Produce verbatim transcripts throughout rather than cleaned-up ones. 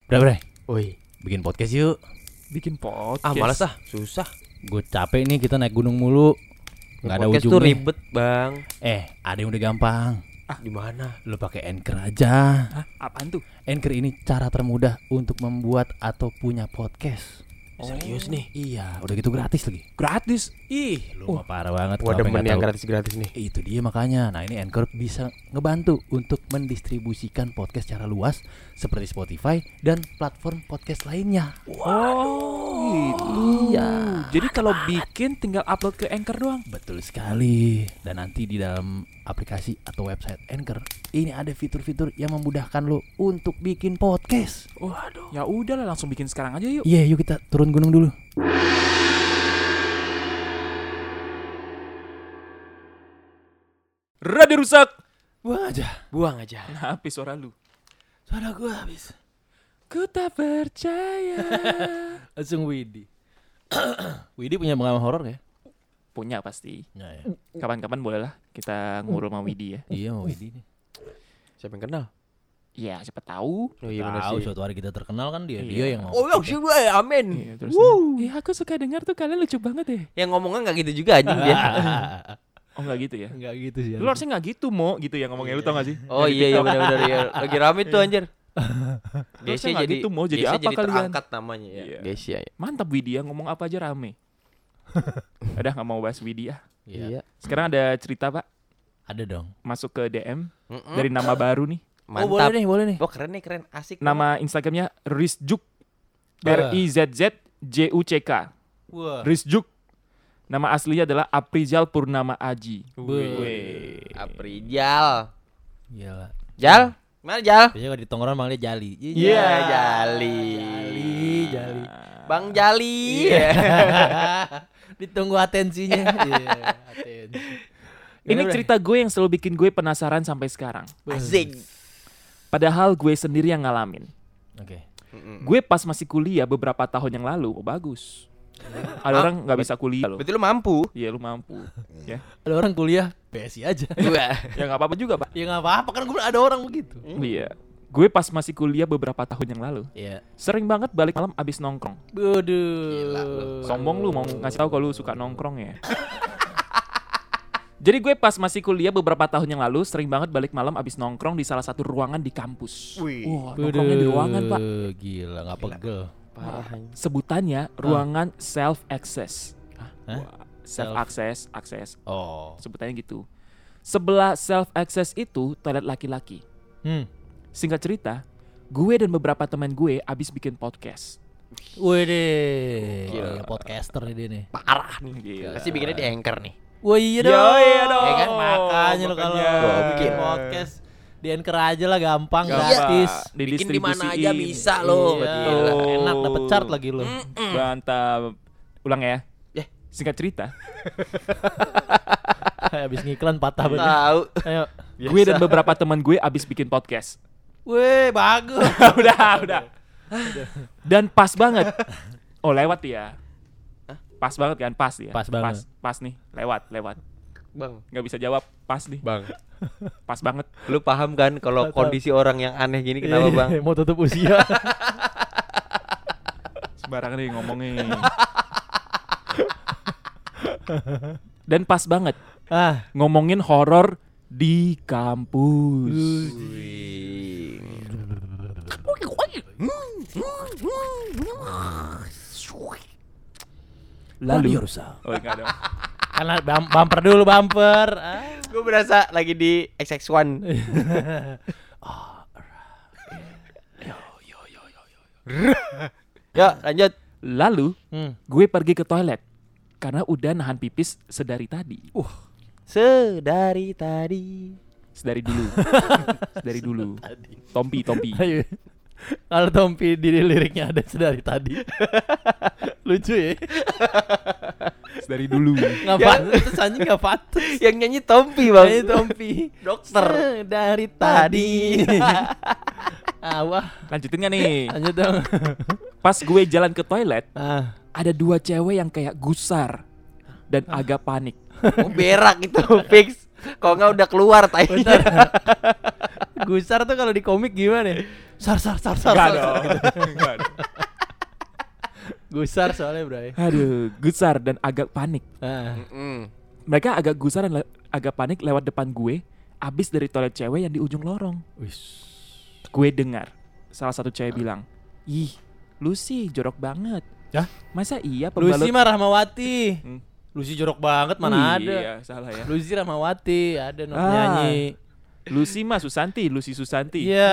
Udah bre, Woi, bikin podcast yuk. Bikin podcast. ah malas ah, susah. Gue capek nih kita naik gunung mulu. Gak ada Podcast ujungnya. tuh ribet, Bang. Eh, ada yang udah gampang. Ah, di mana? Lu pakai Anchor aja. Hah? Apaan tuh? Anchor ini cara termudah untuk membuat atau punya podcast. Serius nih? Iya, udah gitu gratis lagi. Gratis. Ih, lu mah parah banget. Gua kenapa demen nggak yang tahu? gratis-gratis nih. Itu dia makanya. Nah, ini Anchor bisa ngebantu untuk mendistribusikan podcast secara luas seperti Spotify dan platform podcast lainnya. Oh, gitu. Iya. Jadi kalau bikin tinggal upload ke Anchor doang. Betul sekali. Dan nanti di dalam aplikasi atau website Anchor ini ada fitur-fitur yang memudahkan lo untuk bikin podcast. Waduh. Ya udahlah, langsung bikin sekarang aja yuk. Iya, yuk kita turun gunung dulu. Radio rusak. Buang aja. Buang aja. Kenapa suara lu? Suara gua habis. Ku tak percaya. Langsung Widi. Widi punya pengalaman horor ya? Punya pasti. Nah, ya. Kapan-kapan boleh lah kita ngobrol sama Widi ya. Iya, mau Widi nih. Siapa yang kenal? Iya, siapa tahu. Oh iya benar Tahu sih. suatu hari kita terkenal kan dia. Iya. Dia yang Oh, ngomong. ya sih gue, amin. Iya, terus. Iya, aku suka dengar tuh kalian lucu banget deh. Yang ngomongnya enggak gitu juga anjing dia. Oh, enggak gitu ya. Enggak gitu sih. Lu harusnya enggak gitu, Mo, gitu ya ngomongnya, lu tau gak sih? Oh iya iya benar-benar ya. Lagi rame tuh anjir. Harusnya Gesia nggak jadi gitu, mau jadi Gesia apa jadi kalian? terangkat namanya ya. Iya. Gesia ya. Mantap Widi ya, ngomong apa aja rame. Udah gak mau bahas Widi ya. Iya. Sekarang ada cerita, Pak. Ada dong. Masuk ke D M Mm-mm. dari nama baru nih. Oh, boleh Mantap. nih, boleh nih. Oh keren nih, keren, asik. Nama Instagramnya Rizjuk. Bah. R I Z Z J U C K. Wah. Rizjuk. Nama aslinya adalah Aprizal Purnama Aji. Wih. Wih. Aprijal. Gila. Jal? Mana Jal? Biasanya kalau di tongkrongan manggilnya Jali. Iya. Jali. Jali, Jali. Bang Jali. Ditunggu atensinya. Iya, atensi. Ini Gimana, cerita gue yang selalu bikin gue penasaran sampai sekarang. Asik. Padahal gue sendiri yang ngalamin. Oke. Gue pas masih kuliah beberapa tahun yang lalu, oh bagus. Ada orang nggak bisa kuliah loh. Berarti lu mampu. Iya lu mampu. Ya, Ada orang kuliah P S I aja. Gua. ya nggak apa-apa juga pak. Ya nggak apa-apa kan gue ada orang begitu. Iya. Gue pas masih kuliah beberapa tahun yang lalu, Iya. sering banget balik malam abis nongkrong. Waduh. Sombong lu mau ngasih tahu kalau lu suka nongkrong ya. Jadi gue pas masih kuliah beberapa tahun yang lalu sering banget balik malam abis nongkrong di salah satu ruangan di kampus. Wih. Wah, nongkrongnya di ruangan pak. Gila nggak pegel. Parah. Sebutannya ruangan self access. Hah? Self access, akses. Oh. Sebutannya gitu. Sebelah self access itu toilet laki-laki. Hmm. Singkat cerita, gue dan beberapa teman gue abis bikin podcast. Wih deh. Gila. Podcaster nih dia nih. Parah nih. Gila. Pasti bikinnya di Anchor nih. Wah iya Ya, dong. iya dong. Ya kan makanya lo kalau Makanya. bikin podcast di Anchor aja lah gampang, Gampang. gratis. Bikin di mana Didistribusiin. aja bisa lo. Iya, Gila. enak dapet chart lagi lo. Mantap. Ulang ya. Ya. Singkat cerita, Habis ngiklan patah banget. Tahu. Ayo. gue dan beberapa teman gue abis bikin podcast. Wih, bagus. udah, udah. Dan pas banget. Oh, lewat ya. Pas banget kan, pas ya. Pas banget. Pas, pas nih, lewat, lewat. Bang. Nggak bisa jawab, pas nih. Bang. Pas banget. Lu paham kan kalau Tahu. kondisi orang yang aneh gini kenapa, Bang? Mau tutup usia. Sembarangan nih ngomongin. Dan pas banget ah. ngomongin horor di kampus. Wih. Lalu, Radio rusak. oh enggak dong. Karena bum- bumper dulu bumper. Ah. Gue berasa lagi di X X one. Yuk lanjut. Lalu, Hmm. gue pergi ke toilet karena udah nahan pipis sedari tadi. Sedari tadi. Sedari dulu. Sedari dulu. Tompi, Tompi. Ayo. Kalau Tompi di liriknya ada sedari tadi. Lucu ya. Sedari dulu. Enggak Ya. pantas anjing enggak pantas. Yang nyanyi Tompi, Bang. Ini Tompi. Dokter. Dari tadi. Ah, wah. Lanjutin gak nih? Lanjut dong. Pas gue jalan ke toilet, Ah. ada dua cewek yang kayak gusar dan agak panik. Oh, berak itu fix. Kalau nggak udah keluar tai. Bentar. Gusar tuh kalau di komik gimana ya? Sar sar sar sar. Enggak sar, dong. sar. Enggak dong. Gusar soalnya, Bray. Aduh, gusar dan agak panik. Ah. Mm-mm. Mereka agak gusar dan le- agak panik lewat depan gue, abis dari toilet cewek yang di ujung lorong. Wis. Gue dengar salah satu cewek bilang, "Ih, Lucy jorok banget." Hah? Masa iya pembalut? Lucy mah Rahmawati. Hmm. Lucy jorok banget Oh, mana ada. Iya, salah ya. Lucy Rahmawati ada no Ah. nyanyi. Lucy mah Susanti, Lucy Susanti. Iya.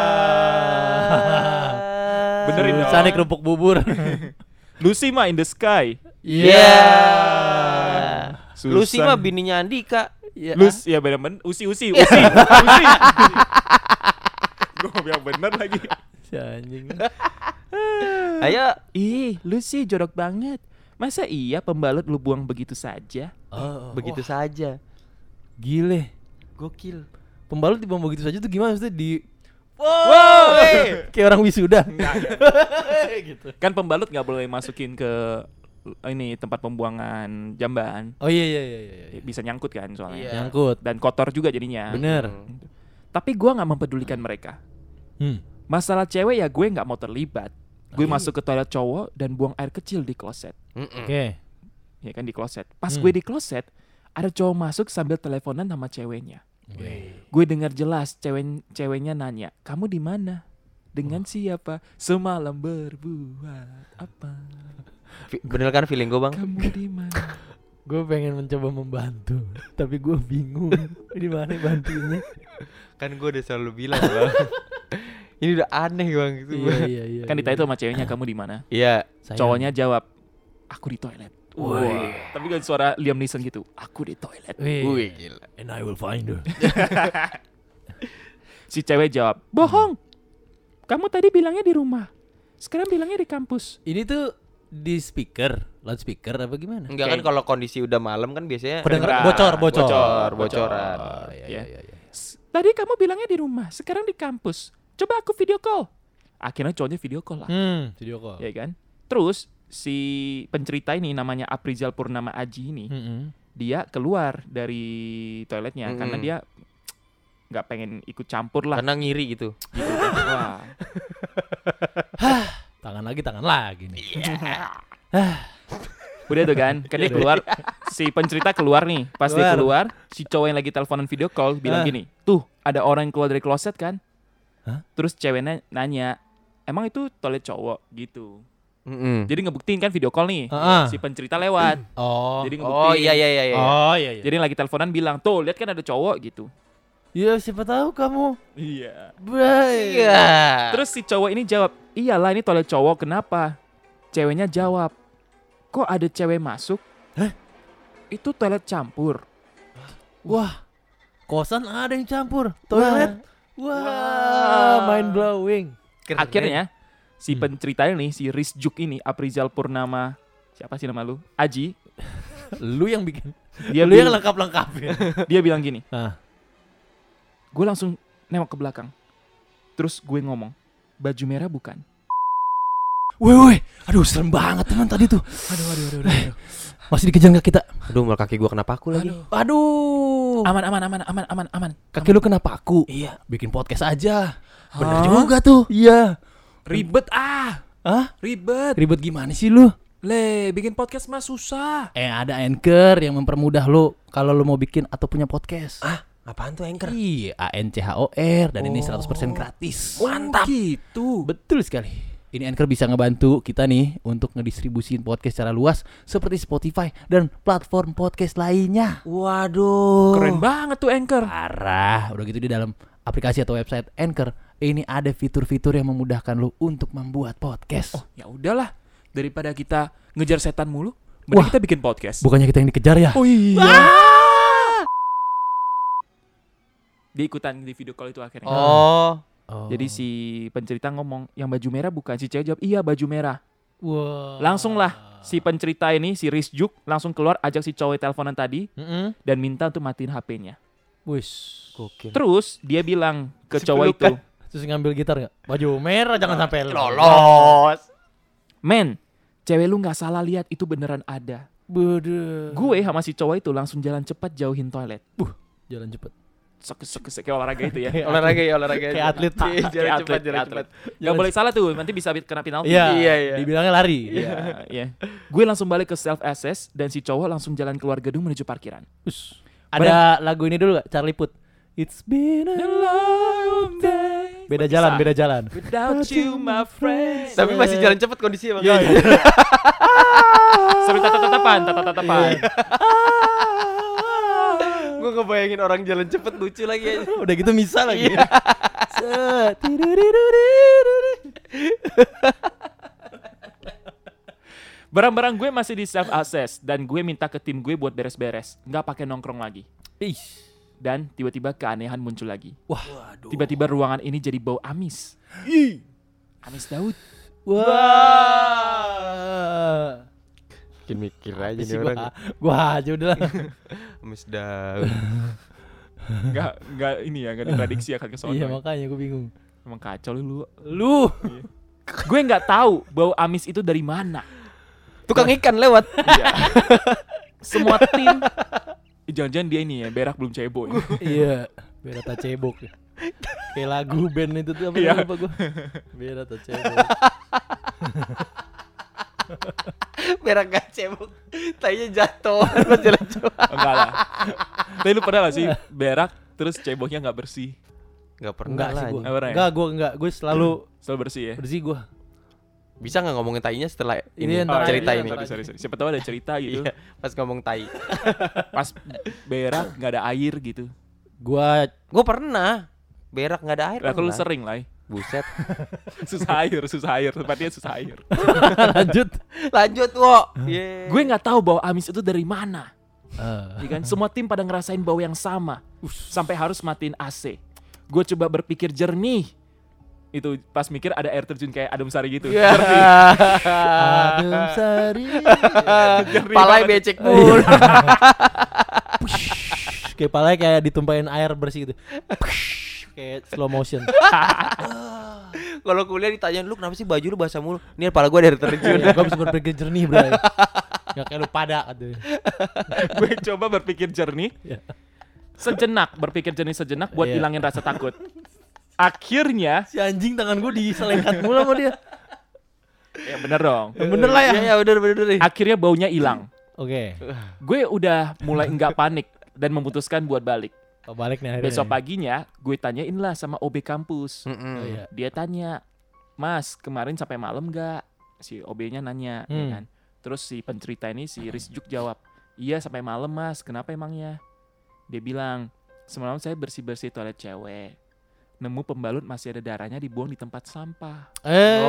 Benerin dong. Susanti kerupuk bubur. Lucy mah in the sky. Iya. Susan. Lucy mah bininya Andika. Iya. Lus, ya bener-bener. Usi, usi, usi, usi. Gue mau bilang bener lagi. Si anjing. Ayo. Ih, Lucy jorok banget. Masa iya pembalut lu buang begitu saja? Oh, Begitu wah, saja. gile. Gokil. Pembalut dibuang begitu saja tuh gimana maksudnya di Wow. hey. kayak orang wisuda. Gitu. Kan pembalut nggak boleh masukin ke ini tempat pembuangan jamban. Oh iya iya iya iya. iya. Bisa nyangkut kan soalnya. Iya. Nyangkut. Dan kotor juga jadinya. Bener. Hmm. Tapi gua nggak mempedulikan mereka. Hmm. Masalah cewek ya gue nggak mau terlibat. Gue Oke. masuk ke toilet cowok dan buang air kecil di kloset. Mm-mm. Oke. Ya kan di kloset. Pas Hmm. gue di kloset, ada cowok masuk sambil teleponan sama ceweknya. Oke. Gue dengar jelas cewek ceweknya nanya, "Kamu di mana? Dengan siapa? Semalam berbuat apa? Fi- Bener kan feeling gue bang? Kamu di mana?" Gue pengen mencoba membantu, tapi gue bingung di mana bantunya. Kan gue udah selalu bilang bang. Ini udah aneh bang gitu. Iya iya iya. Kan iya. ditanya tuh sama ceweknya, "Kamu di mana?" Iya. Sayang. Cowoknya jawab, "Aku di toilet." Woi. Wah. Tapi kan suara Liam Neeson gitu, "Aku di toilet." Wih. Wih gila. And I will find her. Si cewek jawab, "Bohong. Kamu tadi bilangnya di rumah. Sekarang bilangnya di kampus." Ini tuh di speaker, loudspeaker apa gimana? Enggak kan Kayak- kalau kondisi udah malam kan biasanya Kedengeran. Kedengeran. Bocor, bocor, Bocor, bocoran. Oh, iya, iya, iya, iya. S- Tadi kamu bilangnya di rumah, sekarang di kampus. Coba aku video call. Akhirnya cowoknya video call lah. Hmm, video call. Ya kan? Terus si pencerita ini namanya Aprizal Purnama Aji ini, Mm-mm. dia keluar dari toiletnya Mm-mm. karena dia nggak pengen ikut campur lah. Karena ngiri gitu. Gitu kan. Wah. Tangan lagi, tangan lagi nih. Udah tuh kan, kan dia keluar, si pencerita keluar nih. Pas dia Keluar. keluar, si cowok yang lagi teleponan video call bilang Ah. gini, "Tuh, ada orang yang keluar dari kloset kan?" Hah? Terus ceweknya nanya, "Emang itu toilet cowok?" gitu. Mm-mm. Jadi ngebuktiin kan video call nih. Ah. Si pencerita lewat. Oh. Jadi ngebuktiin. Oh iya iya iya. iya. Oh iya iya. Jadi yang lagi teleponan bilang, "Tuh, lihat kan ada cowok." gitu. Ya siapa tahu kamu. Iya. Bray. Iya. Terus si cowok ini jawab, "Iyalah ini toilet cowok, kenapa?" Ceweknya jawab, "Kok ada cewek masuk?" Hah? Itu toilet campur. Wah. Kosan ada yang campur. Toilet. Wah, mind blowing. Keren. Akhirnya si Hmm. pencerita ini, si Rizjuk ini, Aprizal Purnama, siapa sih nama lu? Aji. Lu yang bikin. Dia Lu yang bil- lengkap-lengkapin. dia bilang gini, Ah. gue langsung nengok ke belakang. Terus gue ngomong, "Baju merah bukan?" Woi woi. Aduh, serem banget teman tadi tuh. Aduh aduh aduh aduh. Masih dikejar nggak kita? Aduh, malah kaki gua kena paku lagi. Aduh. Aman, aman, aman, aman, aman, aman. Kaki lu kena paku. Iya. Bikin podcast aja. Hah? Bener juga tuh. Iya. Ribet ah, Hah? ribet. Ribet gimana sih lu? Le, bikin podcast mah susah. Eh ada Anchor yang mempermudah lu kalau lu mau bikin atau punya podcast. Ah, apaan tuh Anchor? Iya, A N C H O R dan ini Oh. seratus persen gratis. Mantap. Gitu. Betul sekali. Ini Anchor bisa ngebantu kita nih untuk ngedistribusin podcast secara luas seperti Spotify dan platform podcast lainnya. Waduh. Keren banget tuh Anchor. Parah. Udah gitu di dalam aplikasi atau website Anchor ini ada fitur-fitur yang memudahkan lu untuk membuat podcast. Oh, ya udahlah. Daripada kita ngejar setan mulu, mending Wah. kita bikin podcast. Bukannya kita yang dikejar ya? Oh iya. Dia ikutan di video call itu akhirnya. Oh. Oh. Jadi si pencerita ngomong, "Yang baju merah bukan?" Si cewek jawab, "Iya, baju merah." Wah. Langsung lah si pencerita ini, si Rizjuk langsung keluar ajak si cowok teleponan tadi Mm-mm. dan minta untuk matiin H P-nya. Wis. Gokil. Terus dia bilang ke Si cowok itu, pelukan. Terus ngambil gitar nggak? Baju merah jangan sampai Lolos. "Men, cewek lu nggak salah lihat, itu beneran ada." Bede. Gue sama si cowok itu langsung jalan cepat jauhin toilet. Jalan cepet. sek sek sek kayak olahraga itu ya. Kayak Olahraga ya olahraga. Kayak atlet. Iya, Kayak jalan atlet, cepat, jalan kayak cepat. Gak boleh salah tuh, nanti bisa kena penalti. Iya, Iya, iya. dibilangnya lari. Iya, iya. Gue langsung balik ke self assess dan si cowok langsung jalan keluar gedung menuju parkiran. Us. Ada lagu ini dulu gak? Charlie Puth. It's been a long day. Beda Bisa. jalan, beda jalan. Without you my friends. Tapi masih jalan cepat kondisinya Bang. Iya, iya. Sambil tatap-tatapan, tatap-tatapan. Gue ngebayangin orang jalan cepet lucu lagi aja. Udah gitu misa lagi. Iya. Set. Tiduriduridi. Barang-barang gue masih di self assess dan gue minta ke tim gue buat beres-beres, nggak pakai nongkrong lagi. Ih. Dan tiba-tiba keanehan muncul lagi. Wah, Tiba-tiba ruangan ini jadi bau amis. Ih. Amis Daud. Wah. Bikin mikir aja Sih nih gua, orang. gua aja udah lah. Amis daun. Nggak, nggak ini ya, nggak diprediksi akan ke sono. Iya, ya. makanya gua bingung. Emang kacau lu. Lu. Gue nggak tahu bau amis itu dari mana. Tukang ikan lewat. Iya. Semua tim. Eh, jangan-jangan dia ini ya, berak belum cebok. Ya. Iya, Berata Cebok. Kayak lagu band itu tuh apa Iya. lupa gua. Berata Cebok. Berak gak cebok. Tainya jatuh pas jalan cepat. Enggak lah. Tapi lu pernah gak sih berak terus ceboknya nggak bersih? Gak pernah Enggak lah sih gua. anjing. Nggak pernah ya? Enggak, gua enggak. Gua selalu Selalu bersih ya? bersih gua. Bisa gak ngomongin tainya setelah Ini ini ntar cerita aja, ini? ntar Sorry, sorry, sorry. Siapa tahu ada cerita gitu. Iya, pas ngomong tai. Pas berak nggak ada air gitu. Gua Gue pernah berak gak ada air. Lah kalau lu pernah. sering lah. Buset. Susah air, susah air. Tempatnya susah air. lanjut. Lanjut, wo. Yeah. Gue nggak tahu bau amis itu dari mana. Eh, Ya kan? Semua tim pada ngerasain bau yang sama. Sampai harus matiin A C. Gue coba berpikir jernih. Itu pas mikir ada air terjun kayak Adem Sari gitu. Iya. Jernih. Adem Sari. Jernih Palanya banget. becek mulu. Kayak palanya kayak ditumpahin air bersih gitu. Kayak slow motion. Kalau kuliah ditanyain lu kenapa sih baju lu basah mulu? Ini kepala gue dari terjun. Gua bisa berpikir jernih, Bray. Enggak kayak lu pada katanya. Gue coba berpikir jernih. Iya. Sejenak, berpikir jernih sejenak buat Iya. hilangin rasa takut. Akhirnya, Si anjing tangan gua diselengkat mulu sama dia. ya bener dong. Yang bener lah ya. Iya, ya bener bener nih. Akhirnya baunya hilang. Oke. Gue udah mulai nggak panik dan memutuskan buat balik. Oh, balik nih akhirnya. Besok paginya gue tanyain lah sama O B kampus. Oh, iya. Dia tanya, Mas kemarin sampai malam nggak? Si O B-nya nanya, ya Hmm. kan? Terus si pencerita ini si Rizjuk jawab, iya sampai malam Mas. Kenapa emangnya? Dia bilang, semalam saya bersih bersih toilet cewek. Nemu pembalut masih ada darahnya dibuang di tempat sampah. Eh.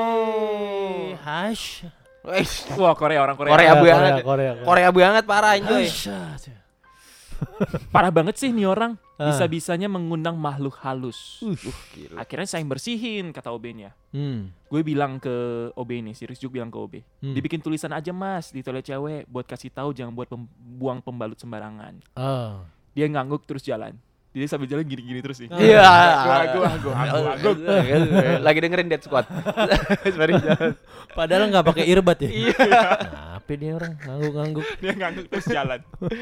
Oh. Hash. Wes, Wah Korea orang Korea. Korea Korea, banget. Korea, Korea. Korea banget parah anjoy. Hash. Parah banget sih nih orang. Ah. Bisa-bisanya mengundang makhluk halus. Uh, gila. Akhirnya saya yang bersihin kata O B-nya. Hmm. Gue bilang ke O B ini, si Rizjuk bilang ke O B, Hmm. dibikin tulisan aja Mas di toilet cewek buat kasih tahu jangan buat pem- buang pembalut sembarangan. Oh. Dia ngangguk terus jalan. Jadi sambil jalan gini-gini terus nih. Iya. Aku, aku, aku, aku. Lagi dengerin Dead Squad. Sembari jalan. Padahal nggak pakai earbud ya. Iya. Apa dia orang ngangguk-ngangguk. Dia ngangguk terus jalan.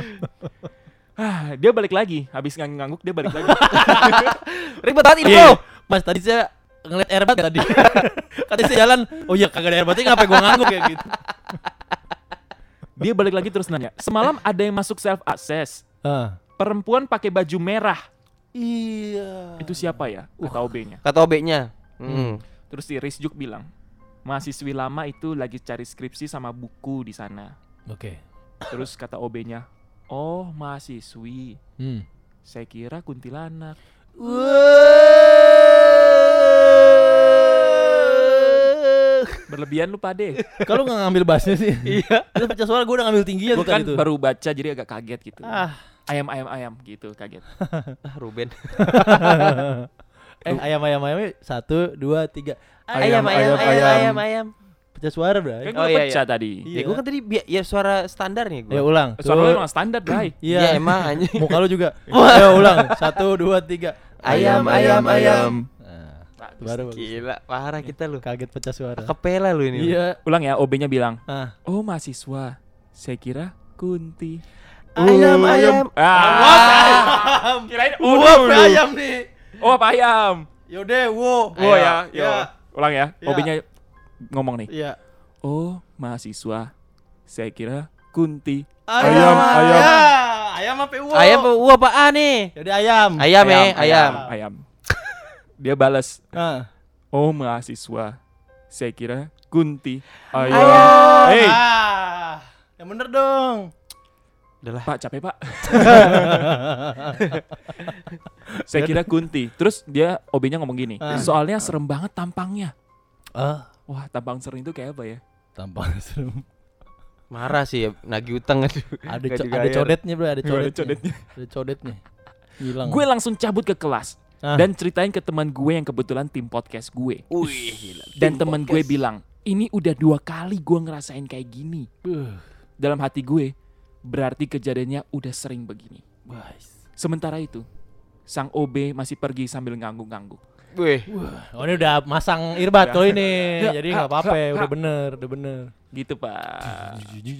Ah, dia balik lagi. Habis ngangguk dia balik lagi. Ribet banget ini, Iya. Bro. Mas tadi saya ngeliat earbud tadi. Katanya saya jalan. Oh iya kagak ada airbudnya ngapain gua ngangguk ya gitu. Dia balik lagi terus nanya, semalam ada yang masuk self access. Ah. Perempuan pakai baju merah. Iya. Itu siapa ya? Kata O B-nya. Kata O B-nya. Hmm. Terus si Rizjuk bilang, mahasiswi lama itu lagi cari skripsi sama buku di sana. Oke. Terus kata O B-nya, oh mahasiswi, Hmm. saya kira kuntilanak. Berlebihan lu pade. Kalau nggak ngambil bassnya sih. Iya. Itu pecah suara gue udah ngambil tingginya Gue tuh kan tadi tuh. baru baca jadi agak kaget gitu. Ah. Ayam ayam ayam gitu kaget. Ah, Ruben. Eh ayam ayam ayam satu dua tiga. Ayam, ayam, ayam, ayam, ayam. ayam, ayam. Pecah suara bro. Kan Oh, gue iya, pecah iya. tadi. Ya gue kan tadi bi- ya suara standar nih gue. Ya ulang. Suara lu Tuh. emang standar, Bray. Iya. Ya emang anjing. Muka lu juga. Ayo ulang. Satu dua tiga. Ayam, ayam, ayam. Nah, baru bagus. Gila, parah kita lu. Kaget pecah suara. Kepela lu ini. Iya. Ulang ya, O B-nya bilang, Ah. oh mahasiswa, saya kira kunti. Ayam, ayam. Ah. Kirain oh Uap dulu. ayam nih. Oh apa ayam? Yaudah, wo. Oh ya, yo. Ya. Ulang ya. Ya. Obinya ngomong nih. Iya. Oh, mahasiswa. Saya kira Kunti. Ayam, ayam. Ya. Ayam apa wo? Ayam uh apaan nih? Yaudah ayam. Ayam eh, ayam. Ayam. Dia balas. Ah. Oh, mahasiswa. Saya kira Kunti. Ayam. Ayam. Hey, Ah. Yang bener dong. Udahlah. Pak, capek, Pak. Saya kira Kunti. Terus dia O B-nya ngomong gini. Ah. Soalnya serem banget tampangnya. Ah, Wah, tampang serem itu kayak apa ya? tampang serem. Marah sih ya, nagih utang aduh. Ada Nggak co- ada dibayar. codetnya, Bro, ada Gimana codetnya. codetnya? Ada codetnya. Hilang. Gue langsung cabut ke kelas. Ah. Dan ceritain ke teman gue yang kebetulan tim podcast gue. Wih, gila. Dan Tim teman gue podcast. bilang, ini udah dua kali gue ngerasain kayak gini. Buh, Dalam hati gue, berarti kejadiannya udah sering begini. guys. Sementara itu, sang O B masih pergi sambil ngangguk-ngangguk. Wih, Oh, ini udah masang earbud kalau ini. Ya. Jadi nggak apa-apa, ya, udah bener, udah bener. Gitu, Pak.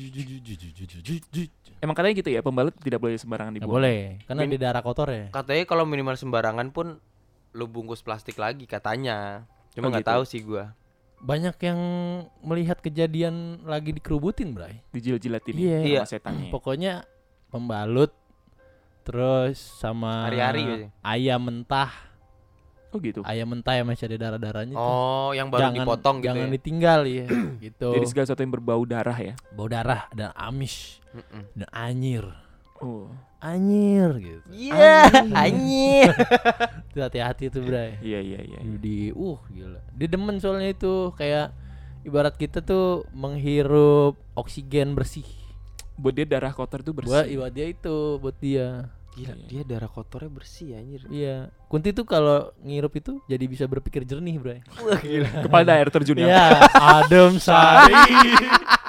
Emang katanya gitu ya, pembalut tidak boleh sembarangan Nggak dibuang. boleh, karena Min- di darah kotor ya. katanya kalau minimal sembarangan pun lu bungkus plastik lagi katanya. Cuma Oh, nggak gitu. tahu sih gua. Banyak yang melihat kejadian lagi dikerubutin, Bray. Dijilat-jilatin Iya. sama Iya. setannya. Pokoknya pembalut, terus sama Hari-hari biasanya. ayam mentah. Oh gitu. Ayam mentah yang masih ada darah-darahnya tuh. Oh, yang baru dipotong gitu jangan ya. ditinggal ya. Gitu. Jadi segala sesuatu yang berbau darah ya. Bau darah dan amis Mm-mm. dan anyir. Oh. Anyir gitu. Iya, anjir. Itu hati-hati tuh, Bray. Iya iya iya. Di uh gila. Dia demen soalnya itu kayak ibarat kita tuh menghirup oksigen bersih. Buat dia darah kotor tuh bersih. Buat buat dia itu, buat dia. Gila, Iya. dia darah kotornya bersih anjir. Iya. Kunti tuh kalau ngirup itu jadi bisa berpikir jernih, Bray. Wah, gila. Kepada air terjun ya. Iya, adem sari.